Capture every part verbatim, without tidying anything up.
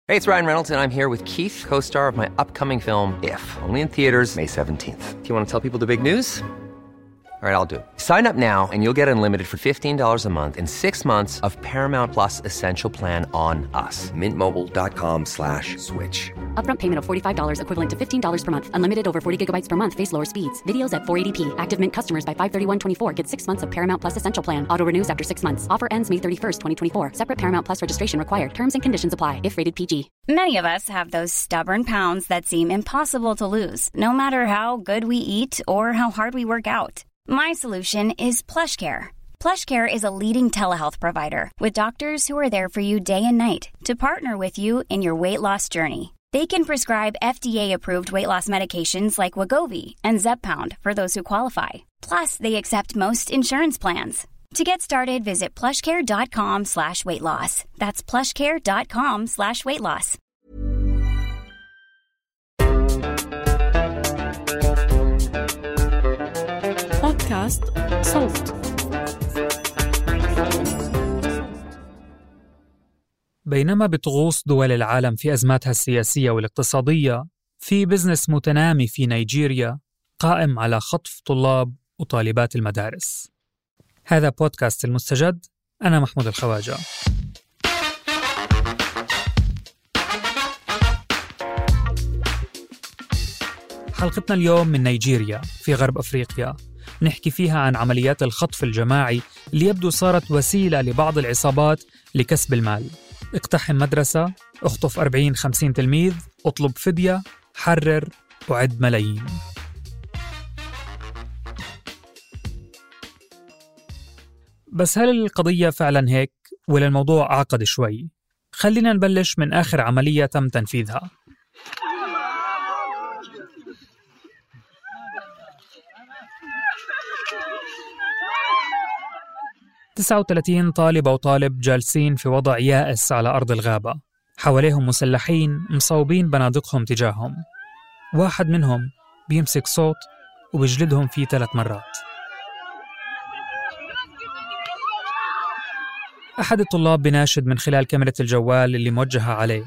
Hey, it's Ryan Reynolds, and I'm here with Keith, co-star of my upcoming film, If, only in theaters May seventeenth. Do you want to tell people the big news? All right, I'll do it. Sign up now and you'll get unlimited for fifteen dollars a month and six months of Paramount Plus Essential Plan on us. Mint Mobile dot com slash switch. Upfront payment of forty-five dollars equivalent to fifteen dollars per month. Unlimited over forty gigabytes per month. Face lower speeds. Videos at four eighty p. Active Mint customers by five thirty-one twenty-four get six months of Paramount Plus Essential Plan. Auto renews after six months. Offer ends May thirty-first, twenty twenty-four. Separate Paramount Plus registration required. Terms and conditions apply if rated P G. Many of us have those stubborn pounds that seem impossible to lose, no matter how good we eat or how hard we work out. My solution is PlushCare. PlushCare is a leading telehealth provider with doctors who are there for you day and night to partner with you in your weight loss journey. They can prescribe F D A-approved weight loss medications like Wegovy and Zepbound for those who qualify. Plus, they accept most insurance plans. To get started, visit plushcare.com slash weight loss. That's plushcare.com slash weight loss. بودكاست صوت. بينما بتغوص دول العالم في أزماتها السياسية والاقتصادية، في بزنس متنامي في نيجيريا قائم على خطف طلاب وطالبات المدارس. هذا بودكاست المستجد، أنا محمود الخواجة. حلقتنا اليوم من نيجيريا في غرب أفريقيا، نحكي فيها عن عمليات الخطف الجماعي اللي يبدو صارت وسيلة لبعض العصابات لكسب المال. اقتحم مدرسة، اخطف أربعين خمسين تلميذ، اطلب فدية، حرر وعد ملايين. بس هل القضية فعلا هيك ولا الموضوع أعقد شوي؟ خلينا نبلش من آخر عملية تم تنفيذها. تسعة وثلاثين طالبة وطالب جالسين في وضع يائس على أرض الغابة، حواليهم مسلحين مصوبين بنادقهم تجاههم. واحد منهم بيمسك صوت وبيجلدهم فيه ثلاث مرات. أحد الطلاب بناشد من خلال كاميرا الجوال اللي موجهة عليه: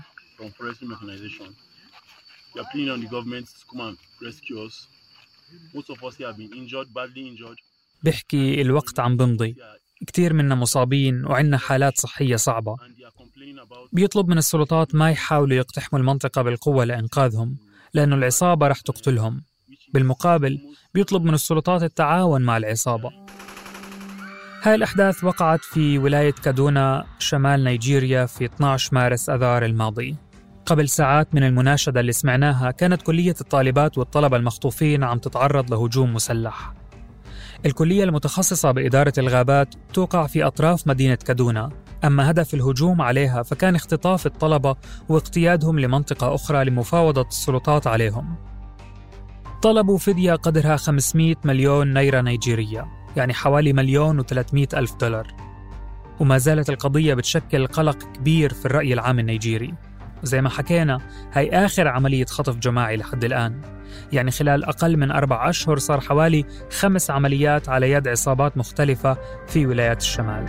بيحكي الوقت عم بمضي، كتير منا مصابين وعنا حالات صحية صعبة. بيطلب من السلطات ما يحاولوا يقتحموا المنطقة بالقوة لإنقاذهم، لأنه العصابة رح تقتلهم. بالمقابل بيطلب من السلطات التعاون مع العصابة. هاي الأحداث وقعت في ولاية كادونا شمال نيجيريا في اثني عشر مارس أذار الماضي. قبل ساعات من المناشدة اللي سمعناها كانت كلية الطالبات والطلبة المخطوفين عم تتعرض لهجوم مسلح. الكلية المتخصصة بإدارة الغابات توقع في أطراف مدينة كادونا، أما هدف الهجوم عليها فكان اختطاف الطلبة واقتيادهم لمنطقة أخرى لمفاوضة السلطات عليهم. طلبوا فدية قدرها خمسمئة مليون نيرة نيجيرية، يعني حوالي مليون وثلاثمئة ألف دولار. وما زالت القضية بتشكل قلق كبير في الرأي العام النيجيري. زي ما حكينا، هاي آخر عملية خطف جماعي لحد الآن، يعني خلال أقل من أربع أشهر صار حوالي خمس عمليات على يد عصابات مختلفة في ولايات الشمال.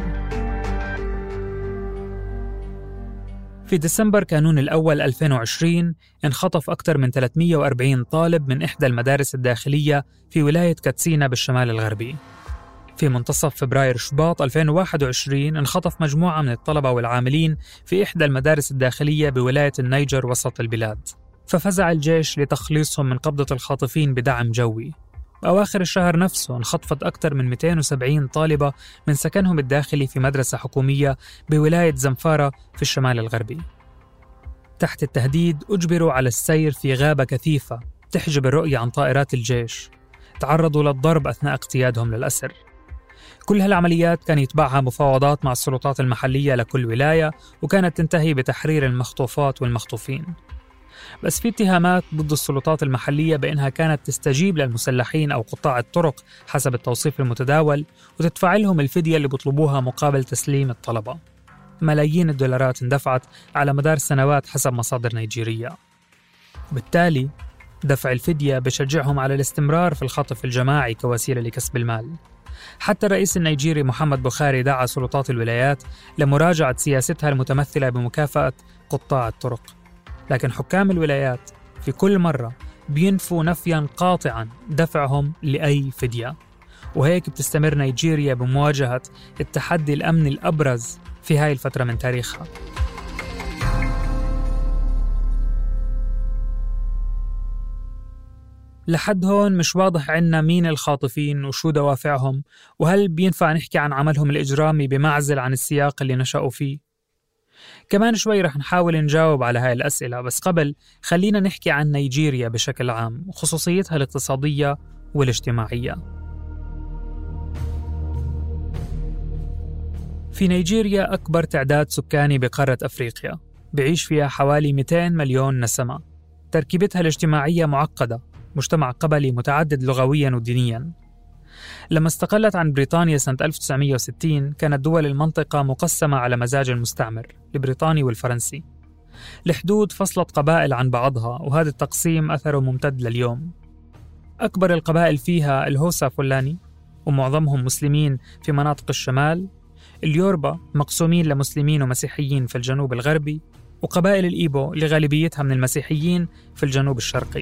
في ديسمبر كانون الأول ألفين وعشرين انخطف أكثر من ثلاثمئة وأربعين طالب من إحدى المدارس الداخلية في ولاية كاتسينا بالشمال الغربي. في منتصف فبراير شباط ألفين وواحد وعشرين انخطف مجموعة من الطلبة والعاملين في إحدى المدارس الداخلية بولاية النيجر وسط البلاد، ففزع الجيش لتخليصهم من قبضة الخاطفين بدعم جوي. بأواخر الشهر نفسه انخطفت أكثر من مئتين وسبعين طالبة من سكنهم الداخلي في مدرسة حكومية بولاية زنفارة في الشمال الغربي. تحت التهديد أجبروا على السير في غابة كثيفة تحجب الرؤية عن طائرات الجيش. تعرضوا للضرب أثناء اقتيادهم للأسر. كل هالعمليات كان يتبعها مفاوضات مع السلطات المحلية لكل ولاية، وكانت تنتهي بتحرير المخطوفات والمخطوفين. بس في اتهامات ضد السلطات المحلية بأنها كانت تستجيب للمسلحين أو قطاع الطرق حسب التوصيف المتداول، وتدفع لهم الفدية اللي بيطلبوها مقابل تسليم الطلبة. ملايين الدولارات اندفعت على مدار سنوات حسب مصادر نيجيرية. بالتالي دفع الفدية بشجعهم على الاستمرار في الخطف الجماعي كوسيلة لكسب المال. حتى الرئيس النيجيري محمد بوخاري دعا سلطات الولايات لمراجعة سياستها المتمثلة بمكافأة قطاع الطرق. لكن حكام الولايات في كل مرة بينفوا نفياً قاطعاً دفعهم لأي فدية. وهيك بتستمر نيجيريا بمواجهة التحدي الأمني الأبرز في هاي الفترة من تاريخها. لحد هون مش واضح عنا مين الخاطفين وشو دوافعهم، وهل بينفع نحكي عن عملهم الإجرامي بمعزل عن السياق اللي نشأوا فيه؟ كمان شوي رح نحاول نجاوب على هاي الأسئلة، بس قبل خلينا نحكي عن نيجيريا بشكل عام وخصوصيتها الاقتصادية والاجتماعية. في نيجيريا أكبر تعداد سكاني بقارة أفريقيا، بعيش فيها حوالي مئتين مليون نسمة. تركيبتها الاجتماعية معقدة، مجتمع قبلي متعدد لغوياً ودينياً. لما استقلت عن بريطانيا سنة ألف وتسعمية وستين كانت دول المنطقة مقسمة على مزاج المستعمر البريطاني والفرنسي. الحدود فصلت قبائل عن بعضها، وهذا التقسيم أثره ممتد لليوم. أكبر القبائل فيها الهوسا فلاني، ومعظمهم مسلمين في مناطق الشمال، اليوربا مقسومين لمسلمين ومسيحيين في الجنوب الغربي، وقبائل الإيبو اللي غالبيتها من المسيحيين في الجنوب الشرقي.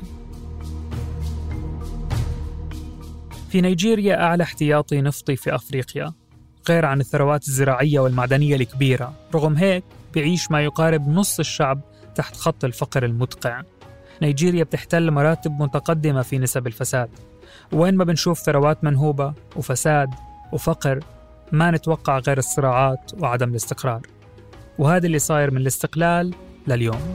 في نيجيريا أعلى احتياطي نفطي في أفريقيا، غير عن الثروات الزراعية والمعدنية الكبيرة. رغم هيك بيعيش ما يقارب نص الشعب تحت خط الفقر المدقع. نيجيريا بتحتل مراتب متقدمة في نسب الفساد، وين ما بنشوف ثروات منهوبة وفساد وفقر ما نتوقع غير الصراعات وعدم الاستقرار. وهذا اللي صاير من الاستقلال لليوم.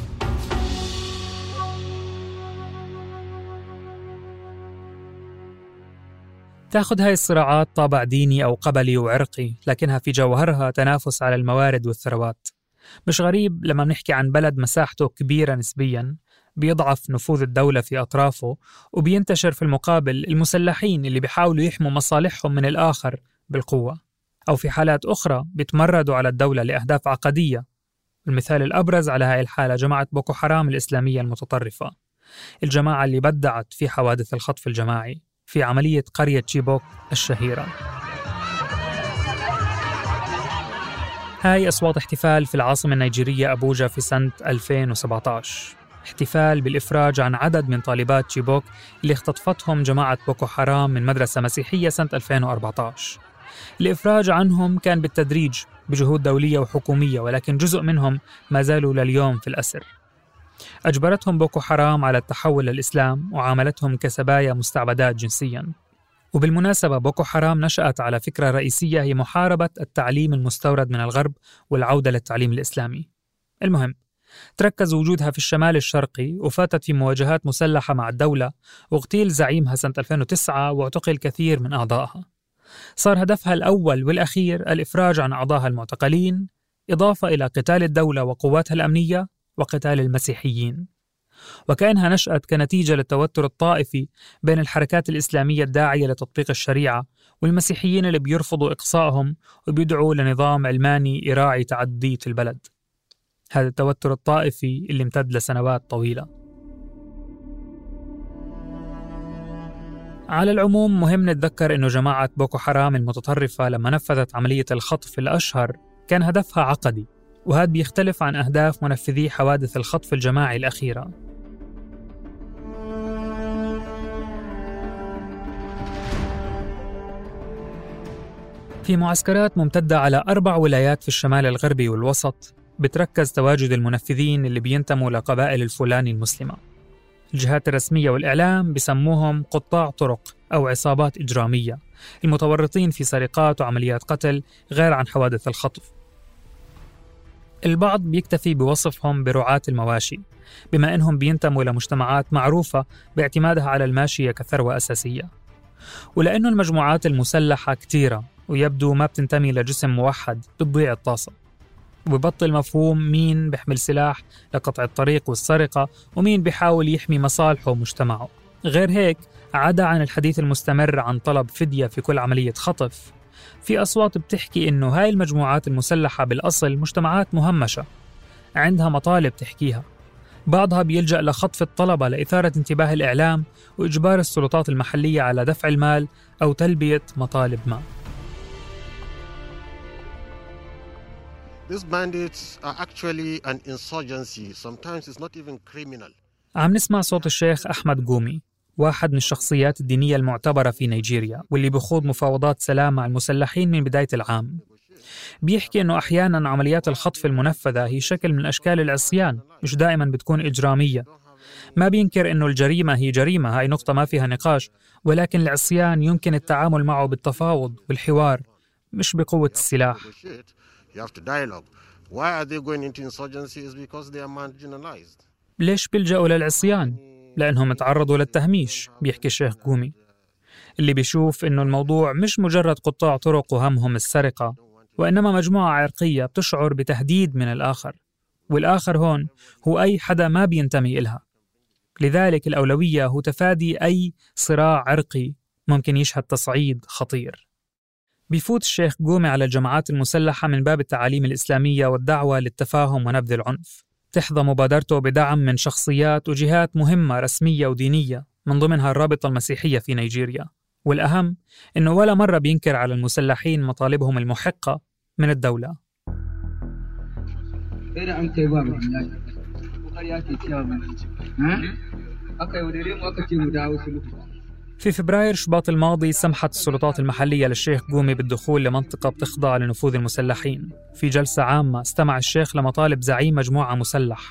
تأخذ هاي الصراعات طابع ديني أو قبلي وعرقي، لكنها في جوهرها تنافس على الموارد والثروات. مش غريب لما بنحكي عن بلد مساحته كبيرة نسبياً بيضعف نفوذ الدولة في أطرافه، وبينتشر في المقابل المسلحين اللي بيحاولوا يحموا مصالحهم من الآخر بالقوة، أو في حالات أخرى بيتمردوا على الدولة لأهداف عقدية. المثال الأبرز على هاي الحالة جماعة بوكو حرام الإسلامية المتطرفة، الجماعة اللي بدعت في حوادث الخطف الجماعي في عملية قرية تشيبوك الشهيرة. هاي أصوات احتفال في العاصمة النيجيرية أبوجا في سنة ألفين وسبعة عشر، احتفال بالإفراج عن عدد من طالبات تشيبوك اللي اختطفتهم جماعة بوكو حرام من مدرسة مسيحية سنة ألفين وأربعة عشر. الإفراج عنهم كان بالتدريج بجهود دولية وحكومية، ولكن جزء منهم ما زالوا لليوم في الأسر. أجبرتهم بوكو حرام على التحول للإسلام وعاملتهم كسبايا مستعبدات جنسياً. وبالمناسبة بوكو حرام نشأت على فكرة رئيسية هي محاربة التعليم المستورد من الغرب والعودة للتعليم الإسلامي. المهم، تركز وجودها في الشمال الشرقي وفاتت في مواجهات مسلحة مع الدولة، واغتيل زعيمها سنة ألفين وتسعة واعتقل كثير من أعضائها. صار هدفها الأول والأخير الإفراج عن أعضائها المعتقلين، إضافة إلى قتال الدولة وقواتها الأمنية وقتال المسيحيين. وكأنها نشأت كنتيجة للتوتر الطائفي بين الحركات الإسلامية الداعية لتطبيق الشريعة والمسيحيين اللي بيرفضوا إقصائهم وبيدعوا لنظام علماني يراعي تعددية البلد. هذا التوتر الطائفي اللي امتد لسنوات طويلة. على العموم مهم نتذكر إنه جماعة بوكو حرام المتطرفة لما نفذت عملية الخطف الأشهر كان هدفها عقدي، وهذا بيختلف عن أهداف منفذي حوادث الخطف الجماعي الأخيرة. في معسكرات ممتدة على أربع ولايات في الشمال الغربي والوسط بتركز تواجد المنفذين اللي بينتموا لقبائل الفلاني المسلمة. الجهات الرسمية والإعلام بسموهم قطاع طرق أو عصابات إجرامية، المتورطين في سرقات وعمليات قتل غير عن حوادث الخطف. البعض بيكتفي بوصفهم برعاة المواشي، بما أنهم بينتموا لمجتمعات معروفة باعتمادها على الماشية كثروة أساسية. ولأنه المجموعات المسلحة كتيرة ويبدو ما بتنتمي لجسم موحد بتضيع الطاسة، وببطل مفهوم مين بيحمل سلاح لقطع الطريق والسرقة ومين بيحاول يحمي مصالحه ومجتمعه. غير هيك، عدا عن الحديث المستمر عن طلب فدية في كل عملية خطف، في أصوات بتحكي إنه هاي المجموعات المسلحة بالأصل مجتمعات مهمشة عندها مطالب تحكيها. بعضها بيلجأ لخطف الطلبة لإثارة انتباه الإعلام وإجبار السلطات المحلية على دفع المال أو تلبية مطالب ما. These bandits are actually an insurgency. Sometimes it's not even criminal. عم نسمع صوت الشيخ أحمد قومي، واحد من الشخصيات الدينية المعتبرة في نيجيريا واللي بخوض مفاوضات سلام مع المسلحين من بداية العام. بيحكي إنه أحياناً عمليات الخطف المنفذة هي شكل من أشكال العصيان، مش دائماً بتكون إجرامية. ما بينكر إنه الجريمة هي جريمة، هاي نقطة ما فيها نقاش، ولكن العصيان يمكن التعامل معه بالتفاوض والحوار، مش بقوة السلاح. ليش بيلجأوا للعصيان؟ لأنهم تعرضوا للتهميش، بيحكي الشيخ قومي، اللي بيشوف إنه الموضوع مش مجرد قطاع طرق وهمهم السرقة، وإنما مجموعة عرقية بتشعر بتهديد من الآخر، والآخر هون هو أي حدا ما بينتمي إلها. لذلك الأولوية هو تفادي أي صراع عرقي ممكن يشهد تصعيد خطير. بيفوت الشيخ قومي على الجماعات المسلحة من باب التعاليم الإسلامية والدعوة للتفاهم ونبذ العنف. تحظى مبادرته بدعم من شخصيات وجهات مهمة رسمية ودينية، من ضمنها الرابطة المسيحية في نيجيريا. والأهم إنه ولا مرة بينكر على المسلحين مطالبهم المحقة من الدولة. في فبراير شباط الماضي سمحت السلطات المحلية للشيخ قومي بالدخول لمنطقة بتخضع لنفوذ المسلحين. في جلسة عامة استمع الشيخ لمطالب زعيم مجموعة مسلح.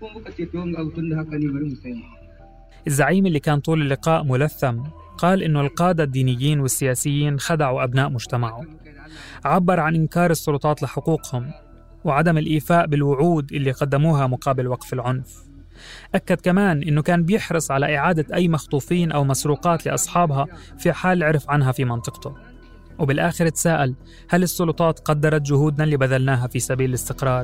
الزعيم اللي كان طول اللقاء ملثم قال إنه القادة الدينيين والسياسيين خدعوا أبناء مجتمعه. عبر عن إنكار السلطات لحقوقهم وعدم الإيفاء بالوعود اللي قدموها مقابل وقف العنف. أكد كمان إنه كان بيحرص على إعادة أي مخطوفين أو مسروقات لأصحابها في حال عرف عنها في منطقته. وبالآخر تساءل: هل السلطات قدرت جهودنا اللي بذلناها في سبيل الاستقرار؟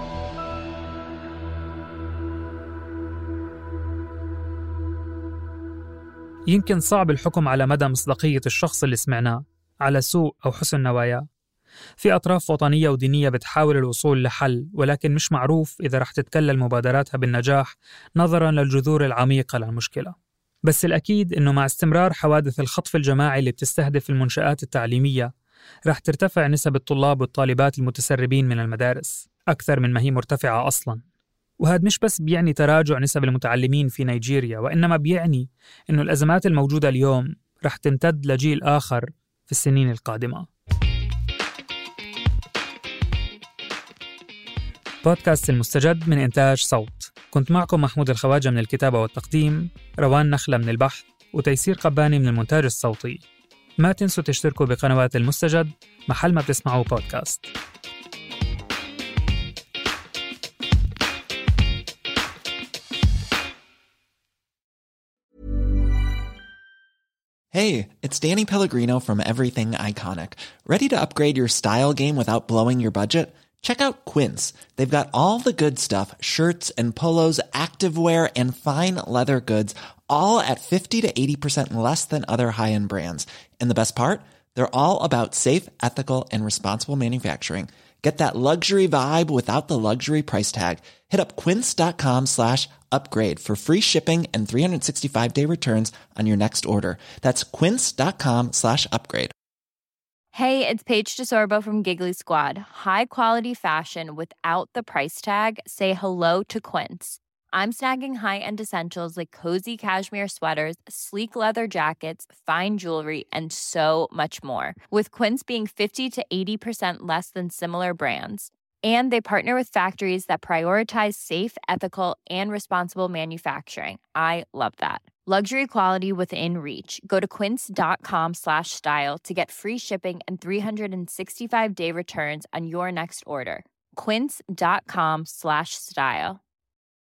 يمكن صعب الحكم على مدى مصداقية الشخص اللي سمعناه على سوء أو حسن نواياه. في أطراف وطنية ودينية بتحاول الوصول لحل، ولكن مش معروف إذا رح تتكلل مبادراتها بالنجاح نظراً للجذور العميقة للمشكلة. بس الأكيد إنه مع استمرار حوادث الخطف الجماعي اللي بتستهدف المنشآت التعليمية رح ترتفع نسب الطلاب والطالبات المتسربين من المدارس أكثر من ما هي مرتفعة أصلاً. وهذا مش بس بيعني تراجع نسب المتعلمين في نيجيريا، وإنما بيعني إنه الأزمات الموجودة اليوم رح تمتد لجيل آخر في السنين القادمة. بودكاست المستجد من إنتاج صوت. كنت معكم محمود الخواجة من الكتابة والتقديم، روان نخلة من البحث، وتيسير قباني من المونتاج الصوتي. ما تنسوا تشتركوا بقنوات المستجد محل ما بتسمعوا بودكاست. Hey, it's Danny Pellegrino from Everything Iconic. Ready to upgrade your style game without blowing your budget? Check out Quince. They've got all the good stuff, shirts and polos, activewear, and fine leather goods, all at fifty to eighty percent less than other high-end brands. And the best part? They're all about safe, ethical, and responsible manufacturing. Get that luxury vibe without the luxury price tag. Hit up quince.com slash upgrade for free shipping and three sixty-five day returns on your next order. That's quince.com slash upgrade. Hey, it's Paige DeSorbo from Giggly Squad. High quality fashion without the price tag. Say hello to Quince. I'm snagging high-end essentials like cozy cashmere sweaters, sleek leather jackets, fine jewelry, and so much more. With Quince being fifty to eighty percent less than similar brands. And they partner with factories that prioritize safe, ethical, and responsible manufacturing. I love that. Luxury quality within reach. Go to quince.com slash style to get free shipping and three sixty-five day returns on your next order. Quince.com slash style.